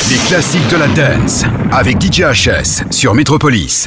Les classiques de la dance avec DJ HS sur Metropolis.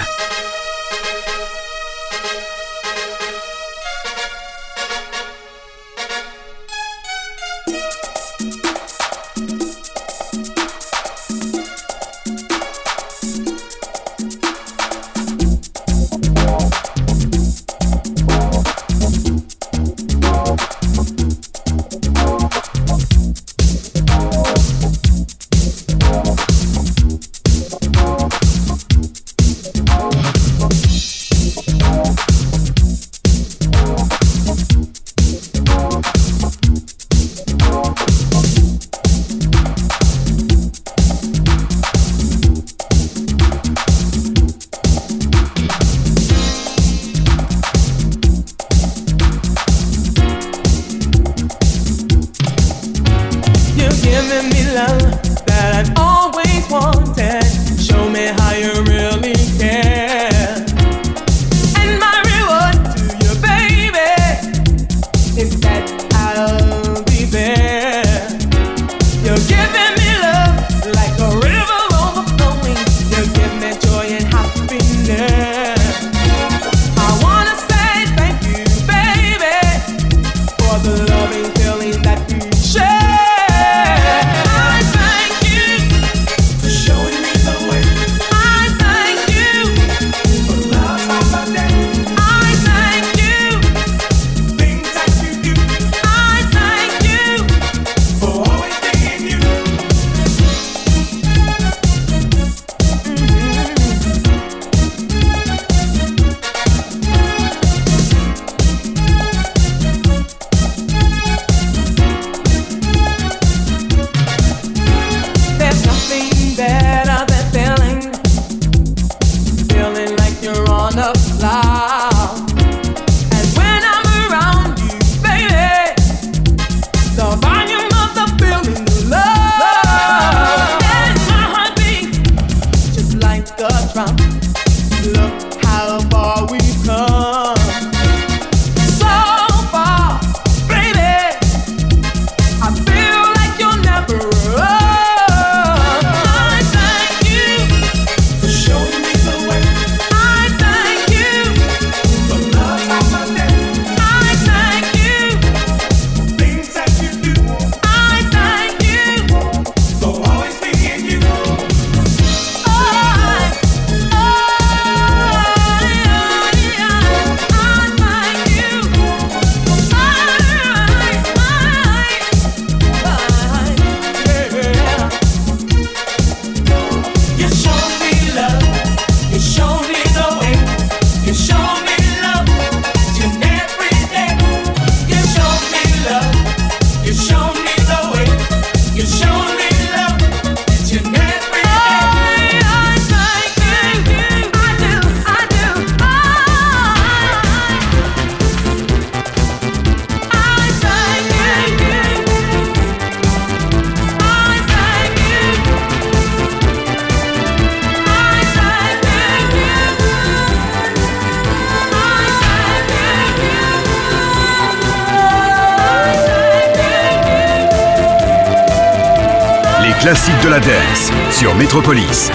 Classique de la dance sur Metropolis.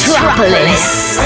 Metropolis.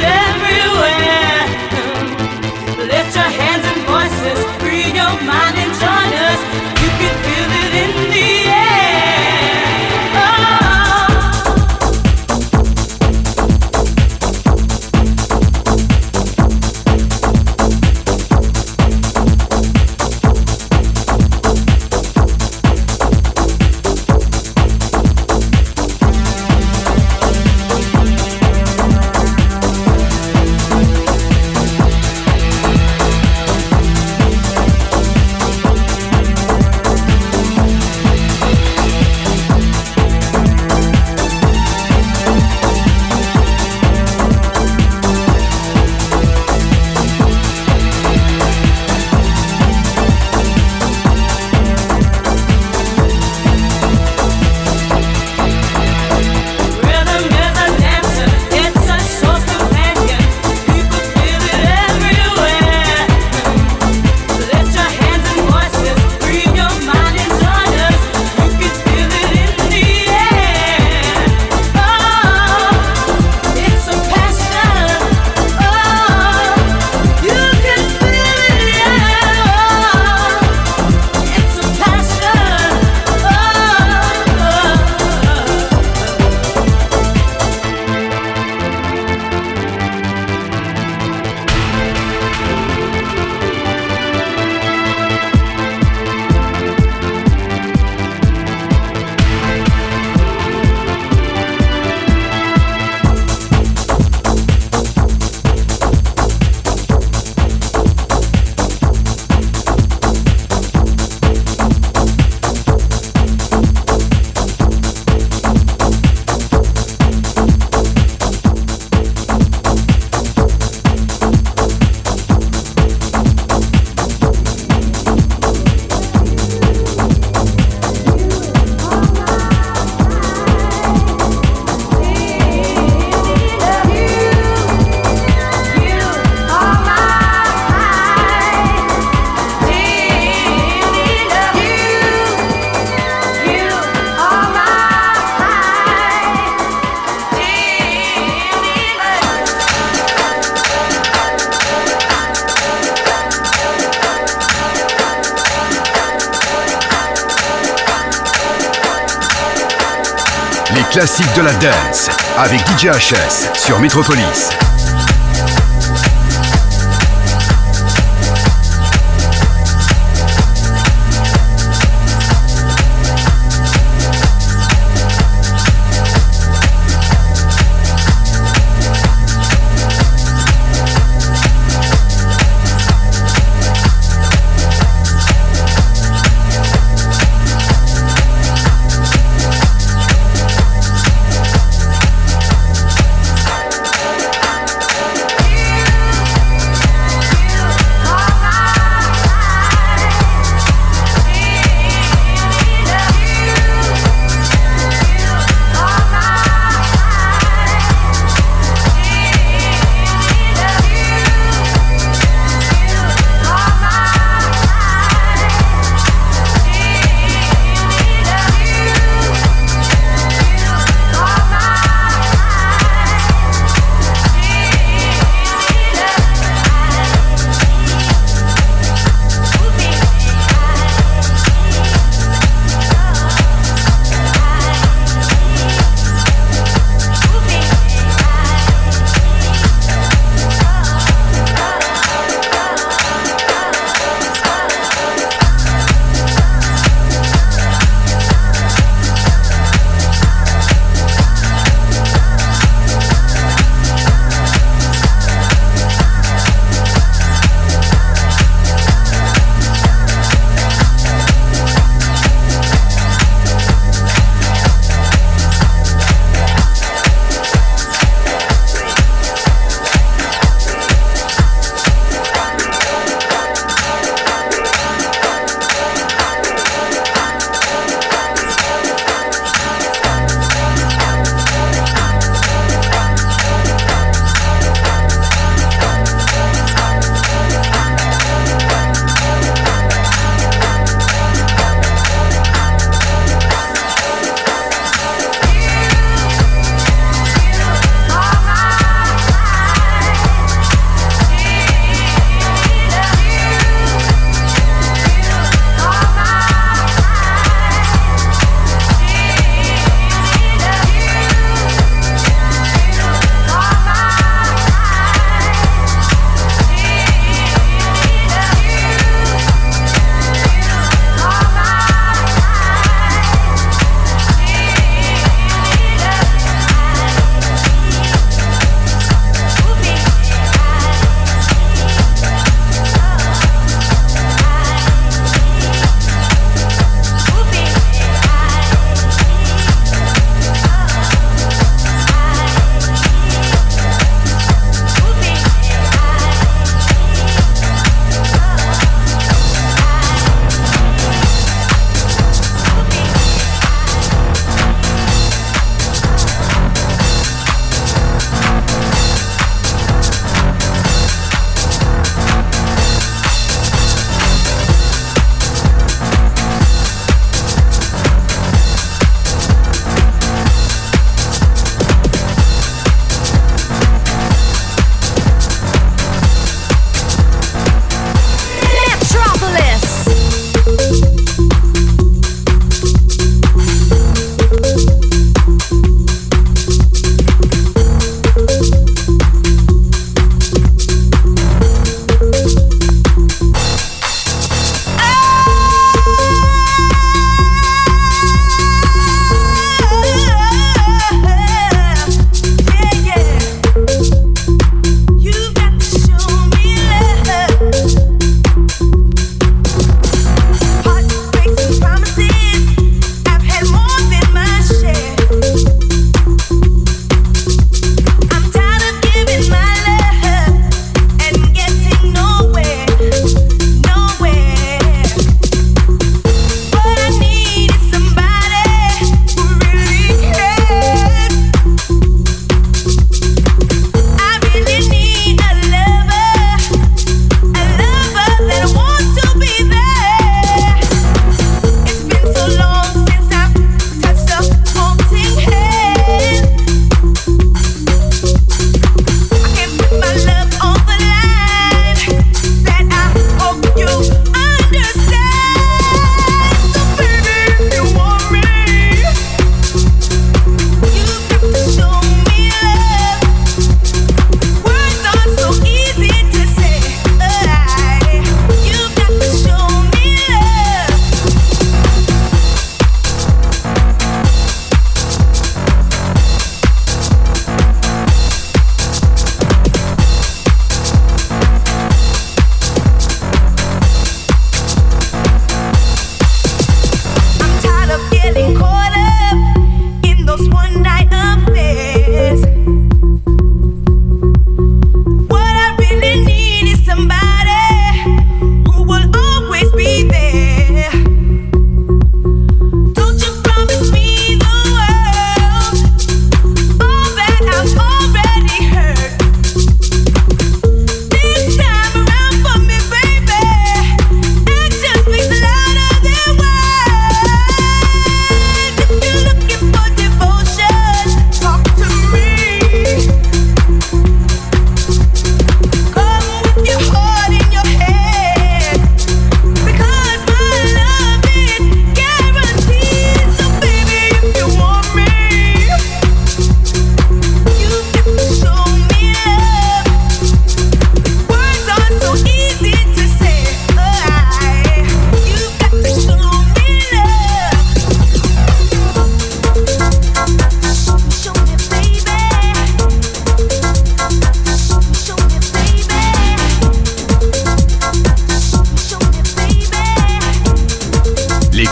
Mind and Les classiques de la dance avec DJ HS sur Metropolis.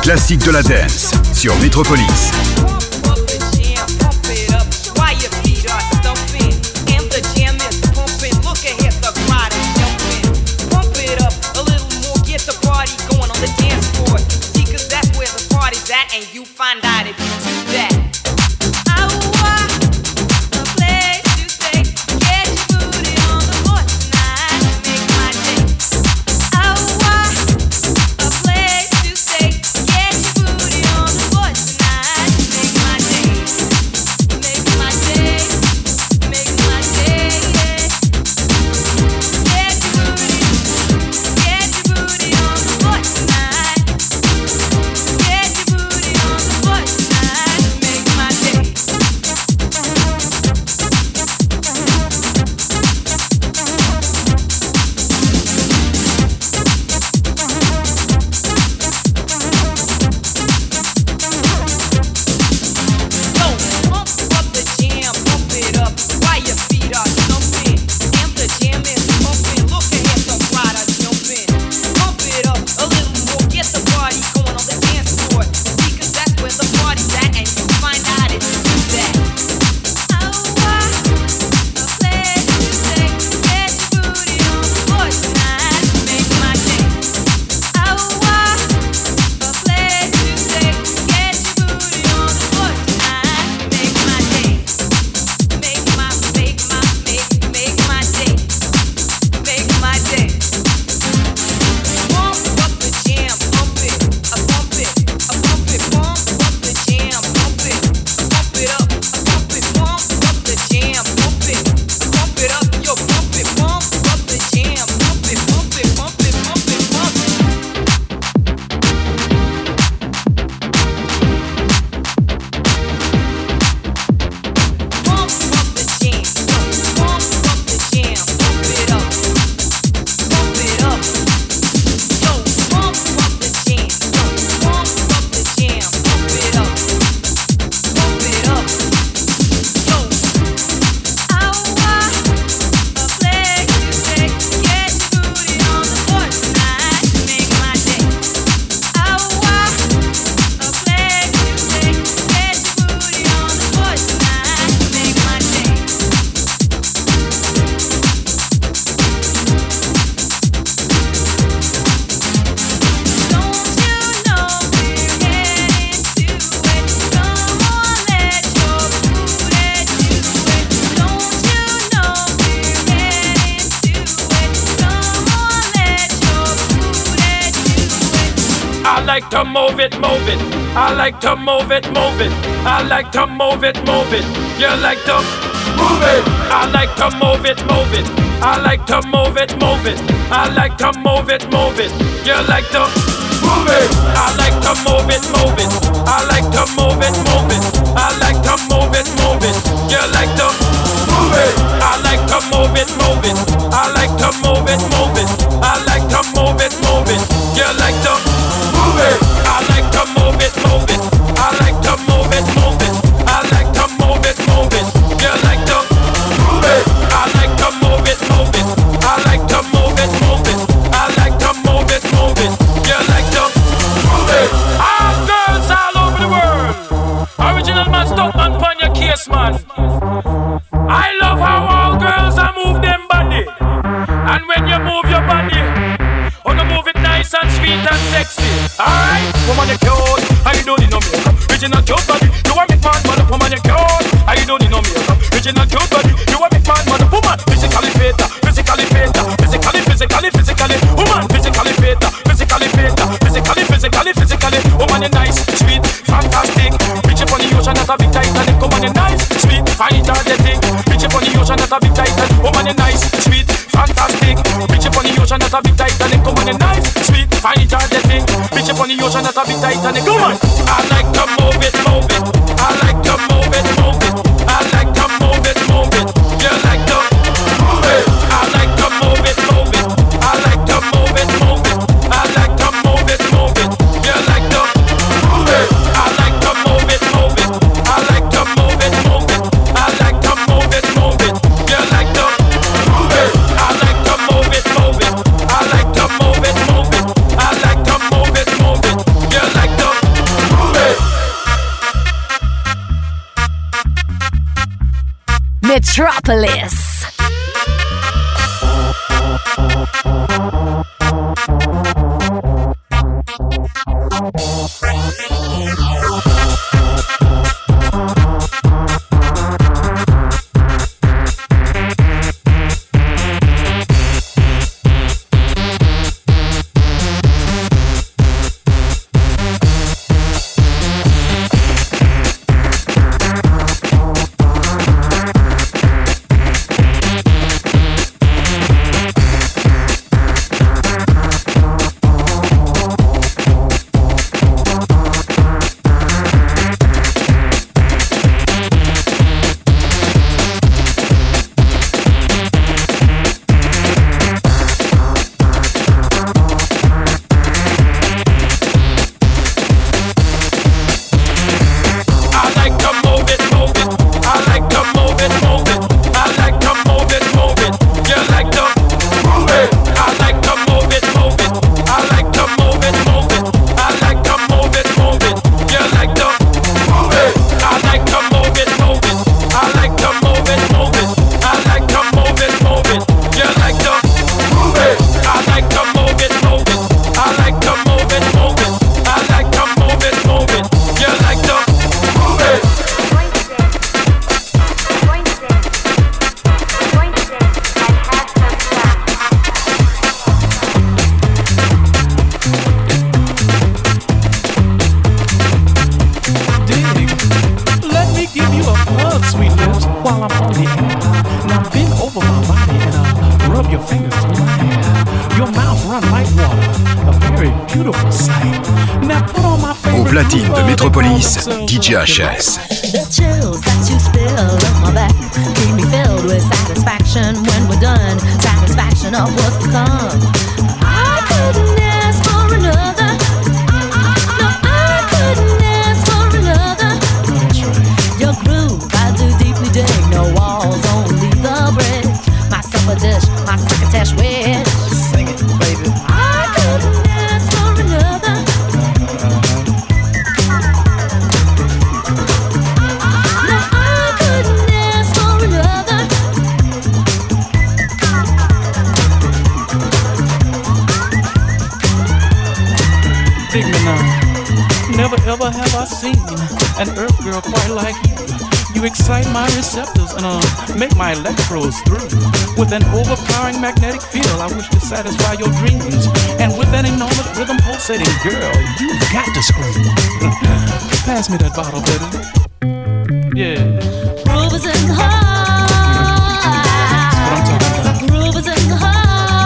classiques de la dance sur Metropolis. And you find out if you do that. like to move it, move it. I like to move it, move it. I like to move it, move it. You like to move it. I like to move it, move it. I like to move it, move it. I like to move it, move it. You like to move it. I like to move it, move it. I like to move it, move it. I like to move it, move it. You like to move it. I like to move it, move it. I like to move it, move it. I like to move it, move it. You like to move it. I like to move it, move it. I like to move it, move it. I like to move it, move it. You like to move it. I like to move it, move it. I like to move it, move it. I like to move it, move it. You like to move it. All girls all over the world. Original man, stop man, pon your case, man. I love how all girls are move them body. And when you move your body, you move it nice and sweet and sexy. Alright? Woman, you cute, I don't need no makeup. Original cute body, you a big man, mother. Woman, you cute, I don't need no makeup. Original cute body, you a big man, mother. Woman, physically fit, physically fit, physically. Woman, physically fit, physically. Woman, you nice, sweet, fantastic. Reach up on the ocean at a big Titanic. Woman, you nice, sweet, fine, energetic. Reach up on the ocean at a big Titanic. Woman, you nice, sweet, fantastic. Reach up on the ocean at a big Titanic. Woman, you nice, sweet, fine, energetic. Reach up on the ocean at a big Titanic. Woman, I like to move it, move it. I like to move it, move it. I like to move it, move it. You like to move it. I like to move it, move it. I like to move it, move it. I like to move it, move it. You like to move it. I like to move it, move it. I like to move it, move it. I like to move it, move it. You like to move it. I like to move it, move it. I like to move it, move it. I like to move it, move it. You like to Metropolis. Au platine de Metropolis, DJ HS. The chills that you spill up my back keep me filled with satisfaction when we're done. Satisfaction of what's to come. I couldn't ask for another. No, I couldn't ask for another. Your groove, I do deeply dig. No walls, only the bridge. My supper dish, my crocketesh wish. Sing it, baby. I couldn't ask for another. No, I couldn't ask for another. Dig me now. Never ever have I seen an earth girl quite like you. You excite my receptors and make my electrodes through. With an overpowering magnetic field, I wish to satisfy your dreams. And with an enormous rhythm pulsating, girl, you've got to scream. Pass me that bottle, baby. Yeah. Groove is in the heart. That's what I'm talking about. Groove is in the heart.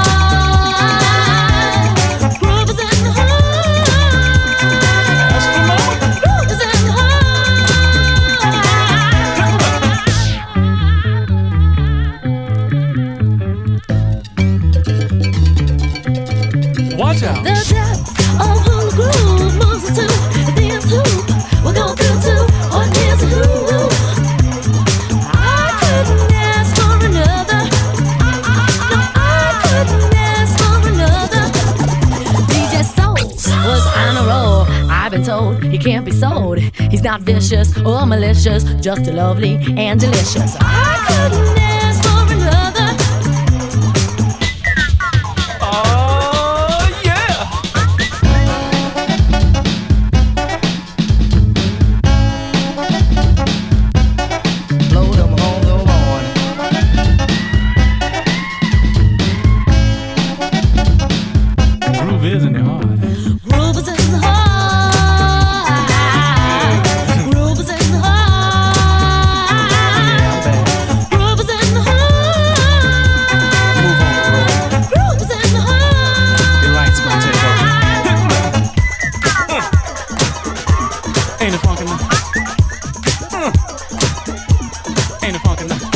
Groove is in the heart. That's the moment. Groove is in the heart. Watch out. The depth of who groove moves us to the nth hoop. We're going through to what is a who. I couldn't ask for another. No, I couldn't ask for another. DJ Soul was on a roll. I've been told he can't be sold. He's not vicious or malicious, just lovely and delicious. I couldn't ask for another. Oh, yeah. Blow them on the lawn. Groove is in the heart. Groove is in the heart. Groove is in the heart. Groove is in the heart. Move on, bro. Groove is in the heart. Your light's gonna take over. Ain't it funky now? Ain't it funky now?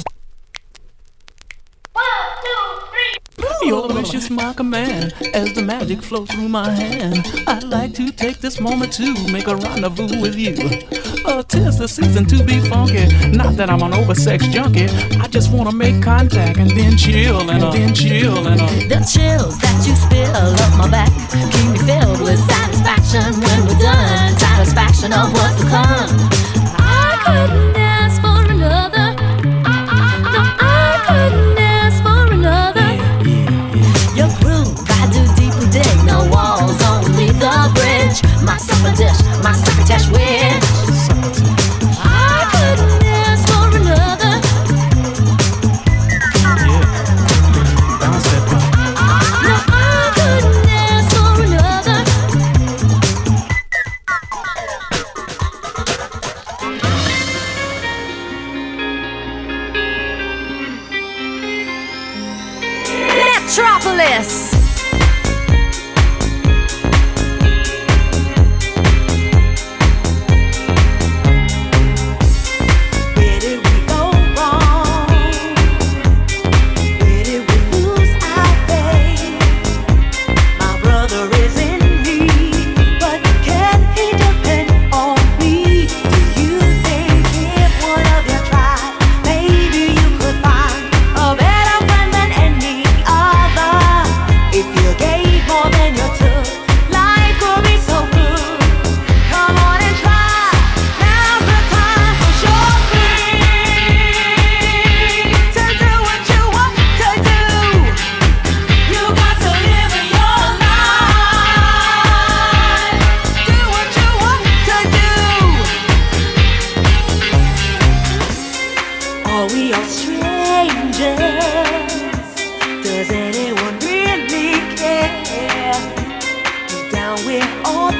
Your wish is my command as the magic flows through my hand. I'd like to take this moment to make a rendezvous with you. 'Tis the season to be funky. Not that I'm an oversexed junkie. I just wanna make contact and then chill and then chill and The chills that you spill up my back keep me filled with satisfaction when we're done. Satisfaction of what's to come. I couldn't ask for another.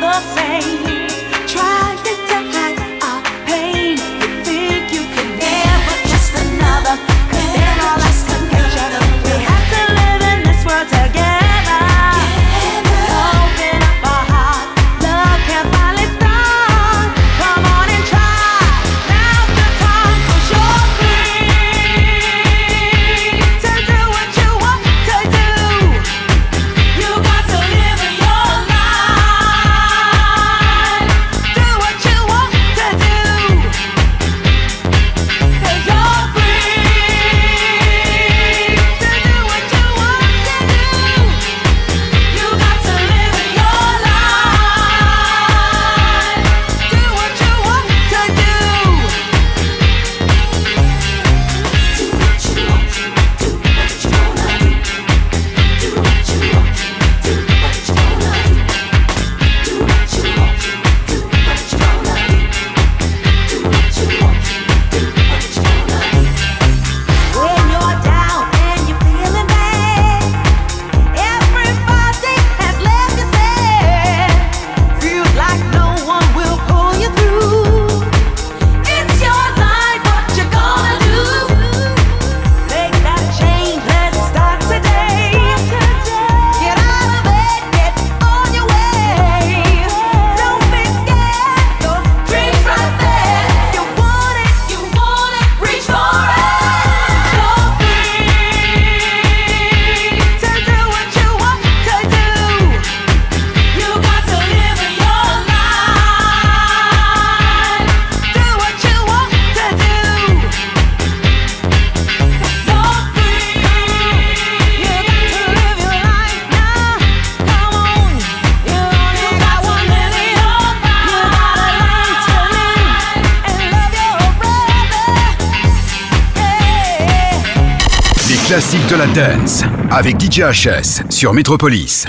Classique de la dance avec DJ HS sur Metropolis.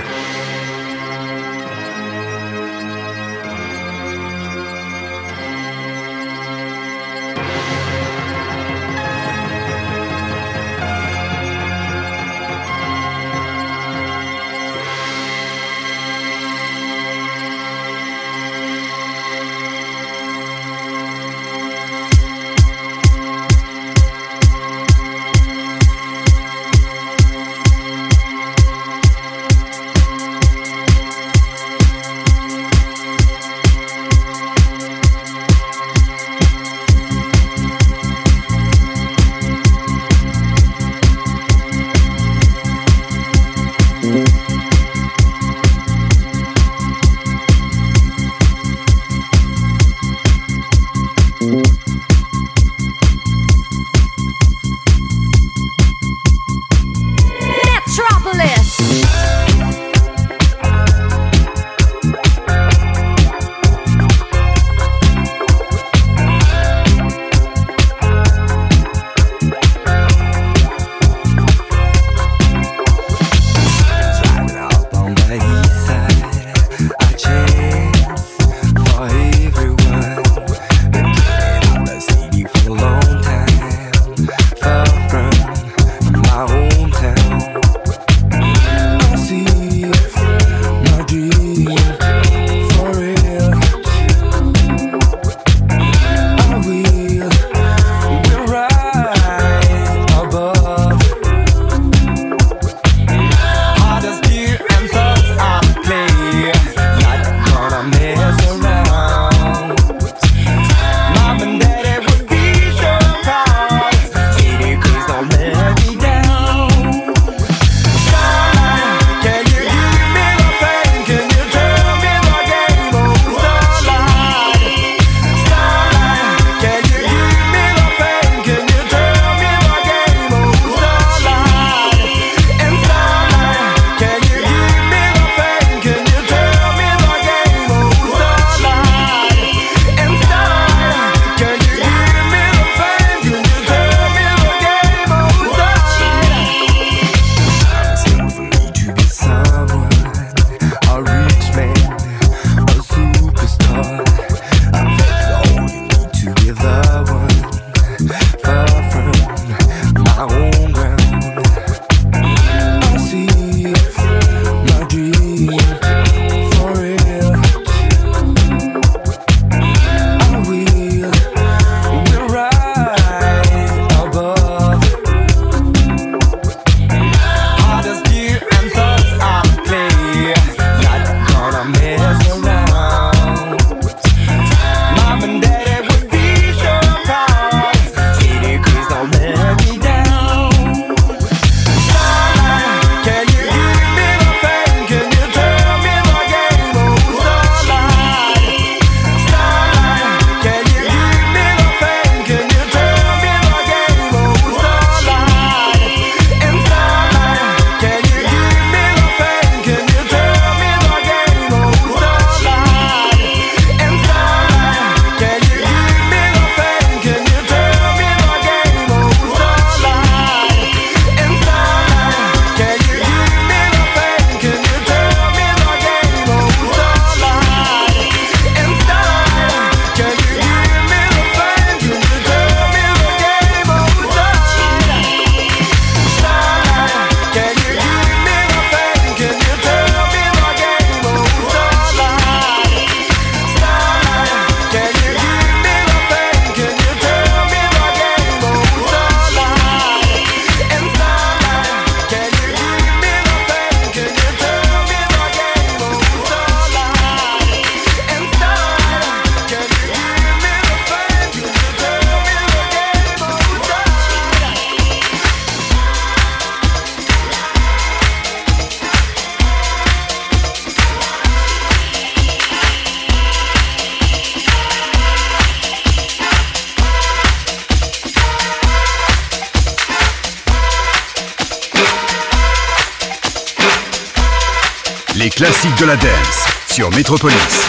classiques de la dance sur Metropolis.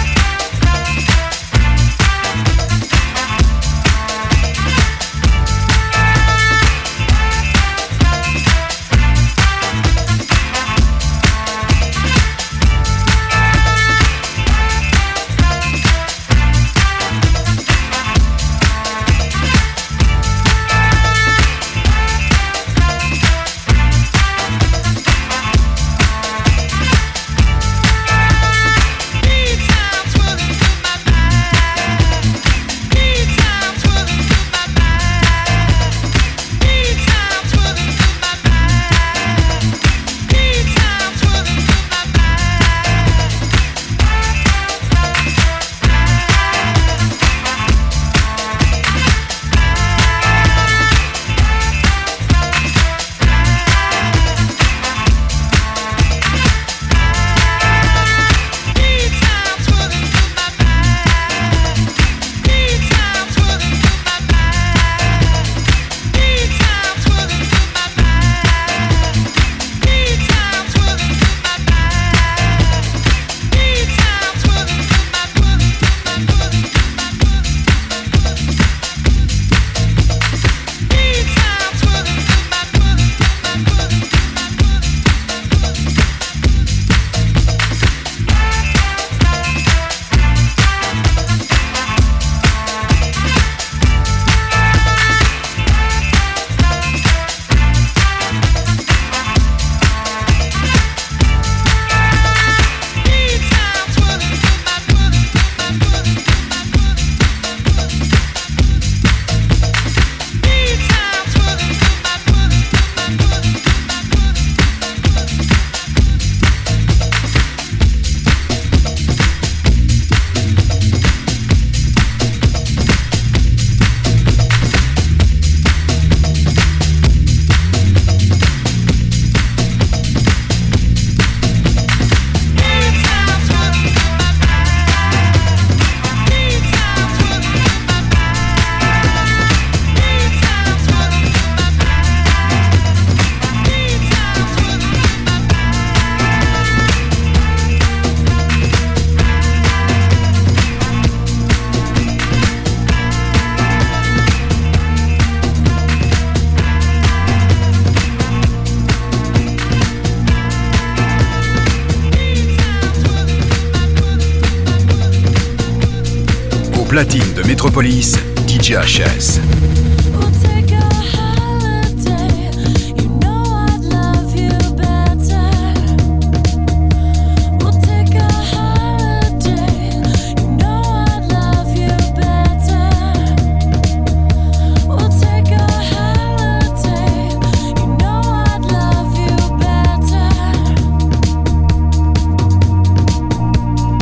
Platine de Metropolis, DJ HS.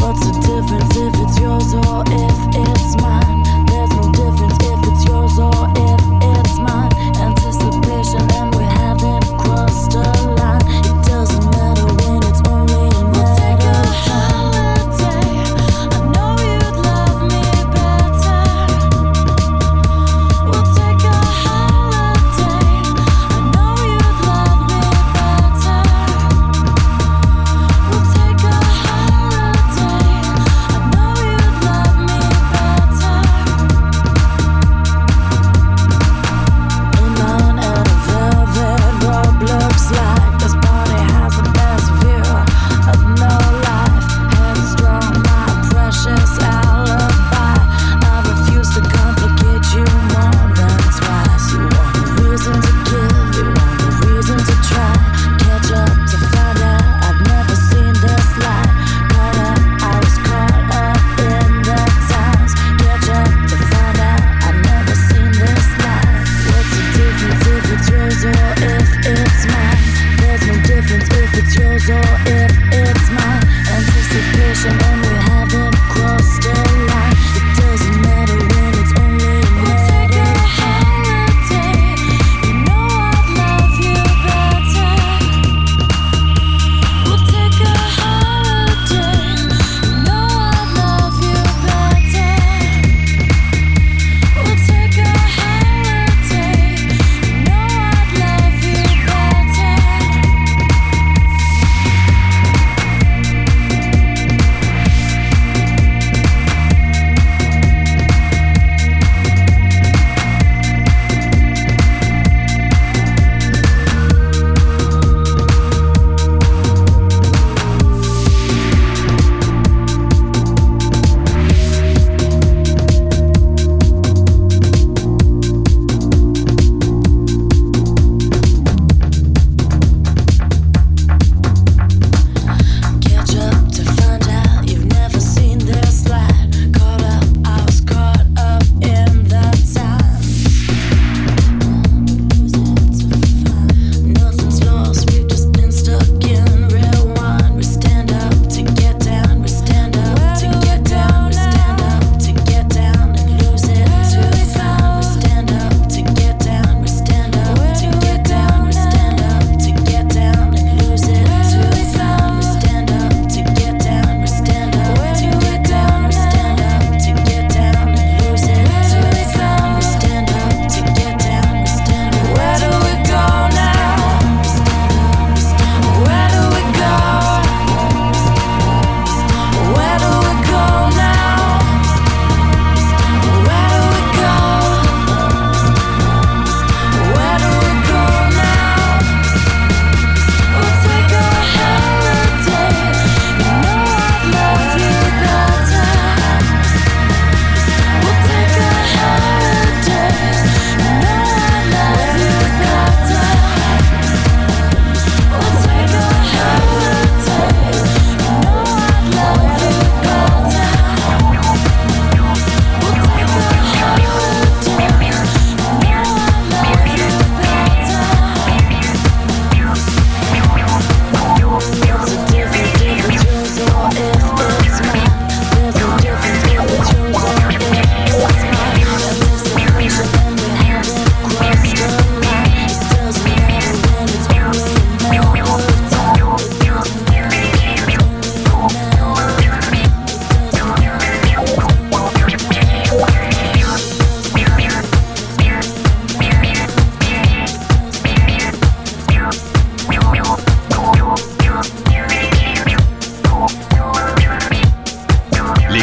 If it's yours or if it's mine, there's no difference if it's yours or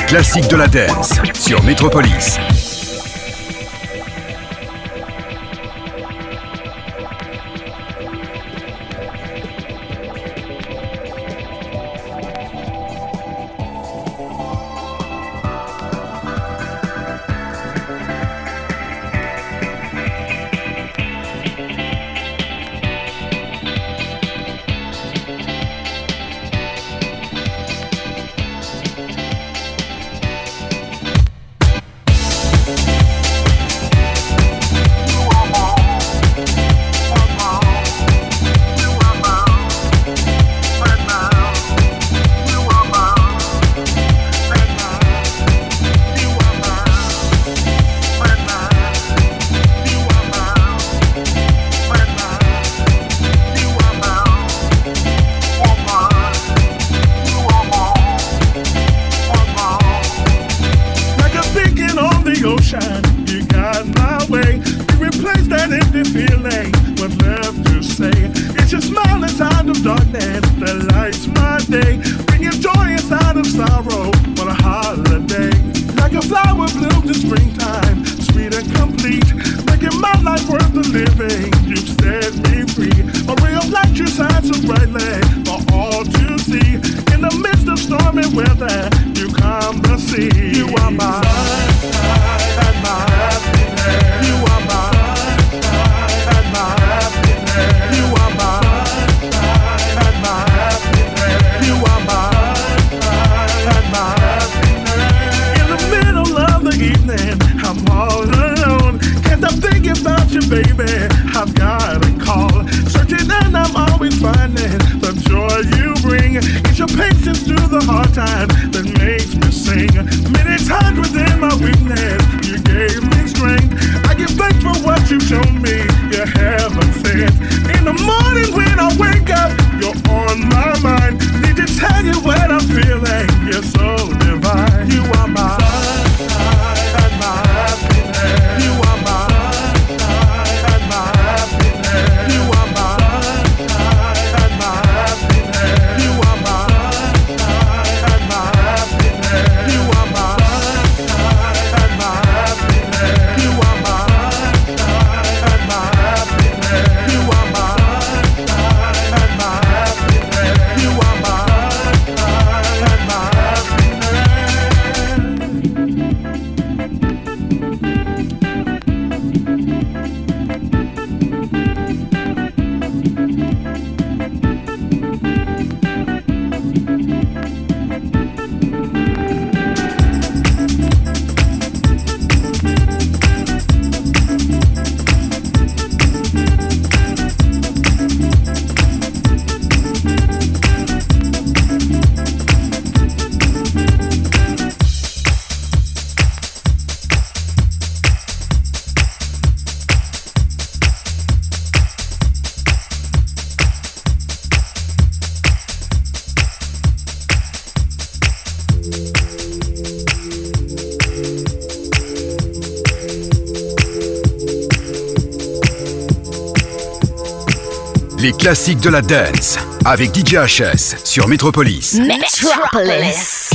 classiques de la dance sur Metropolis. Les classiques de la dance avec DJ HS sur Metropolis. Metropolis.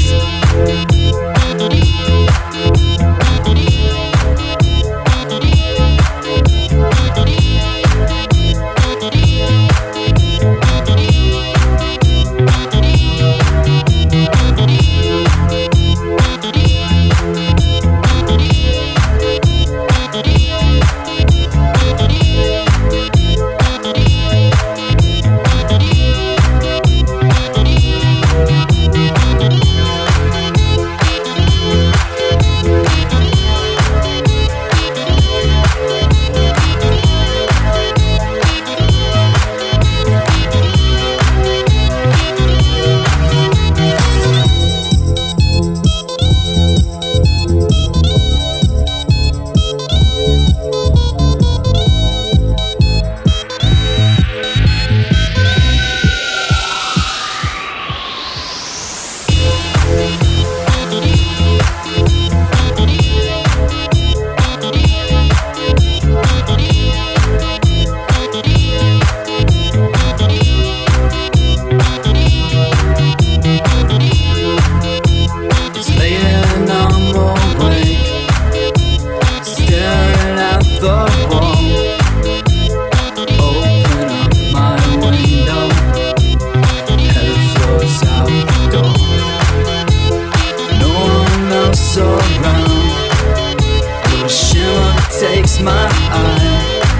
takes my eye.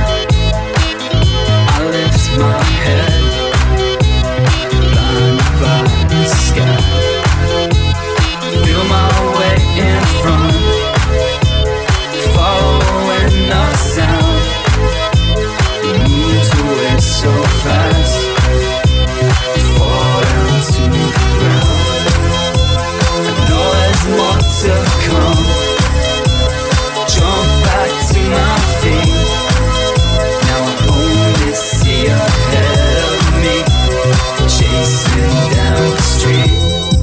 I lift my head, blinded by the sky. Feel my way in front, following the sound. It moves away so fast, fall down to the ground. I know there's more to come. Jump back to my feet. Now I only see ahead of me, chasing down the street.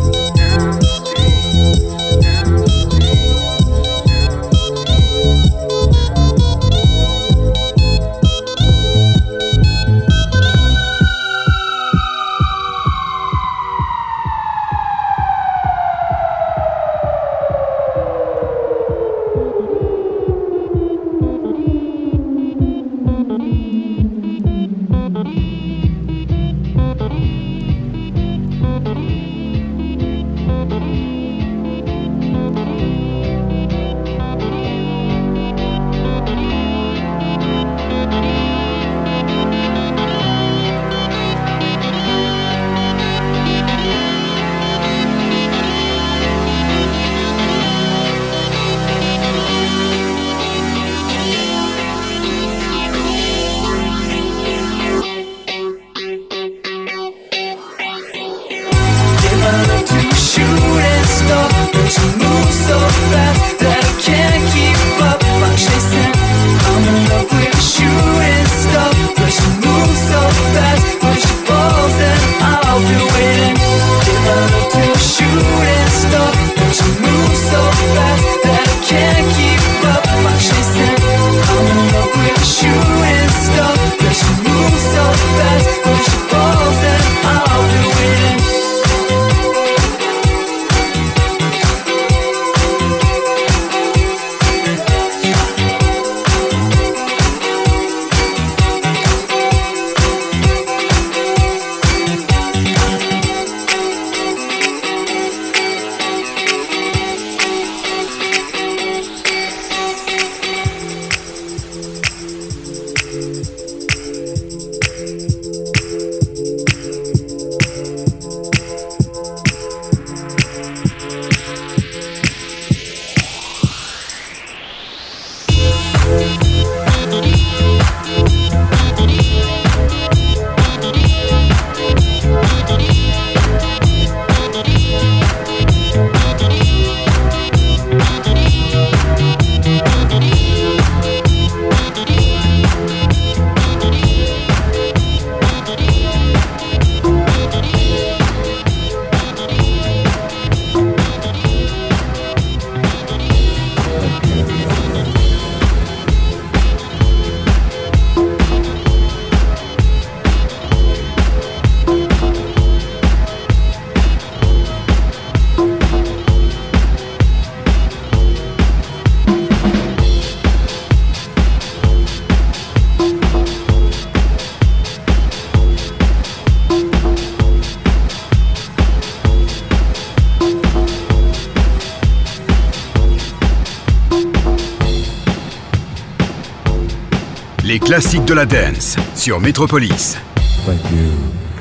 Les classiques de la dance sur Metropolis. Thank you.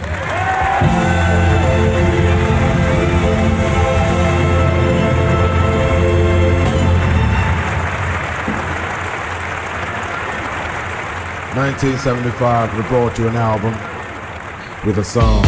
In 1975, we brought you an album with a song.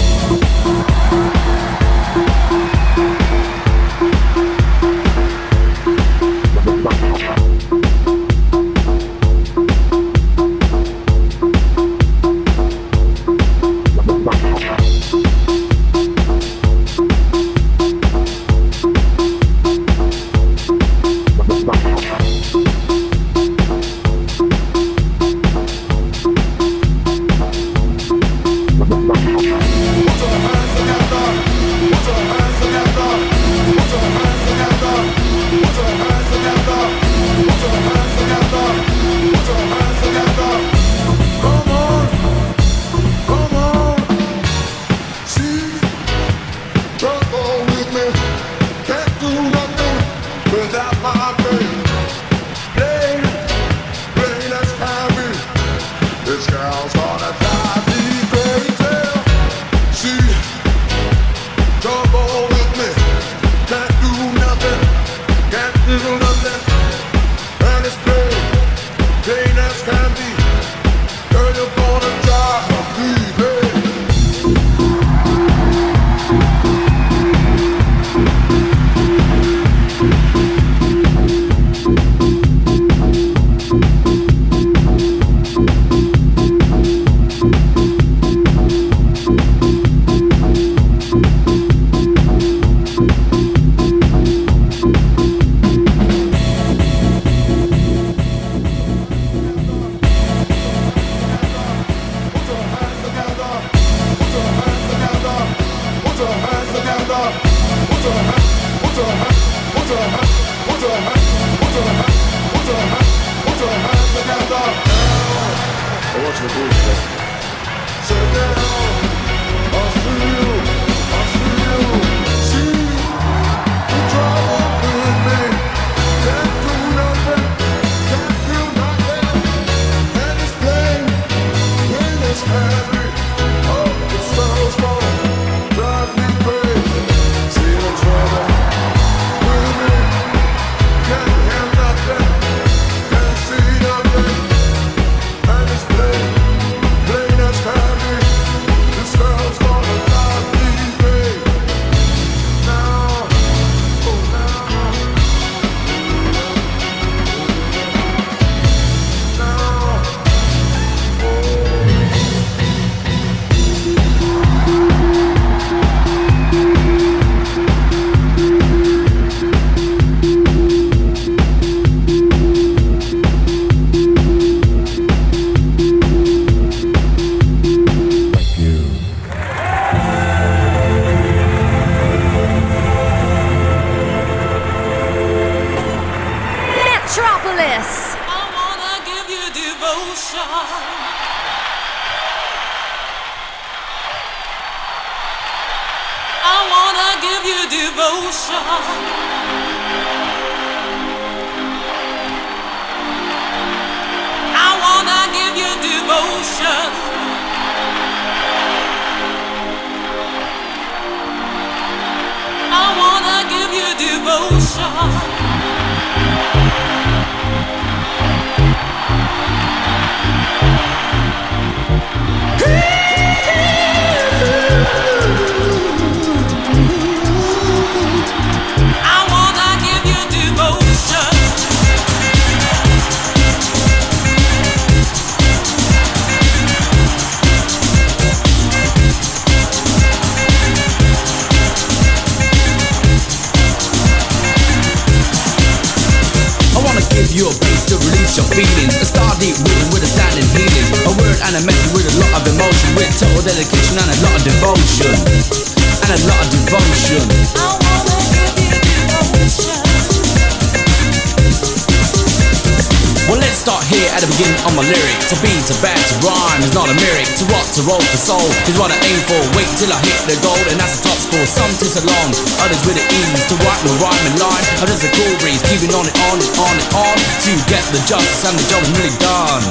To roll for soul is what I aim for. Wait till I hit the goal, and that's the top score. Some too so long, others with the ease to write the rhyming line. Others a cool breeze, keeping on and on and on and on to get the justice, and the job is really done.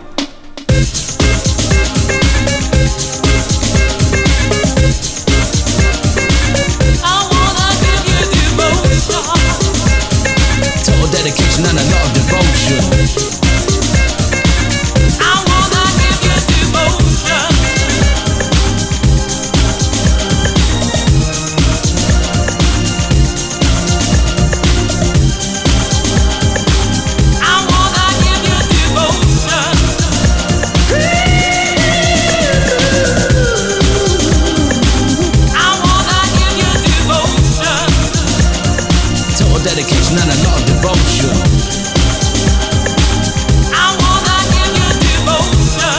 I wanna give you devotion, total dedication and a lot of devotion. Dedication and a lot of devotion. I wanna give you devotion.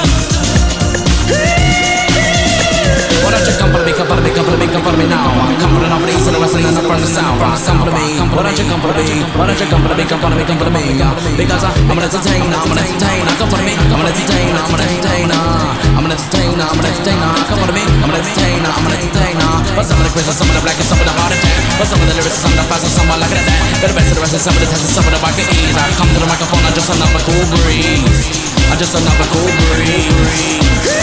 Why don't you come for me, come for me, come for me, come for me now? Come for the north, the east, and the west, and the from the south. Come for me, why don't you come for me? Why don't you come for me, come for me, come for me? Because I'm an entertainer, I'm an entertainer. Come for me, I'm an entertainer, I'm an entertainer. I'm an entertainer, I'm an entertainer. Come for me, I'm an entertainer, I'm an entertainer. But some of the quiz, some of the black, and some of the heart attack. But some of the lyrics, some of the fast, and some are like that. Got the best of the rest and some of the tests and some of the back at ease. I come to the microphone, I'm just another cool breeze. I'm just another cool breeze.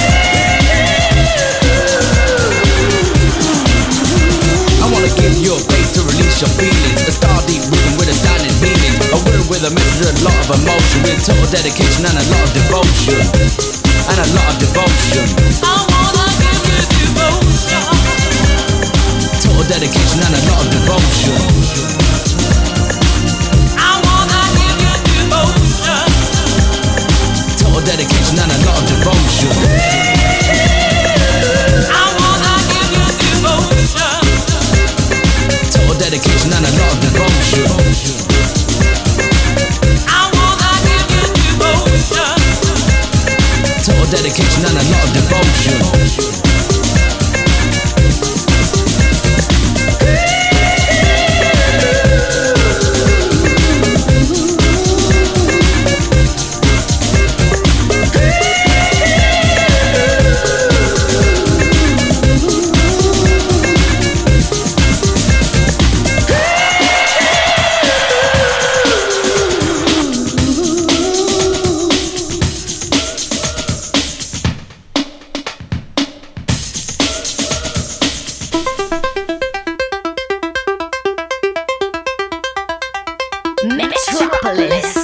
I wanna give you a place to release your feelings. A star deep rhythm with a standing meaning. A word with a message, a lot of emotion. With total dedication and a lot of devotion. And a lot of devotion. I wanna give you devotion. Total dedication and a lot of devotion. I wanna give you devotion. Total dedication and a lot of devotion. I wanna give you devotion. Total dedication and a lot of devotion. I wanna give you devotion. Total dedication and a lot of devotion. Metropolis.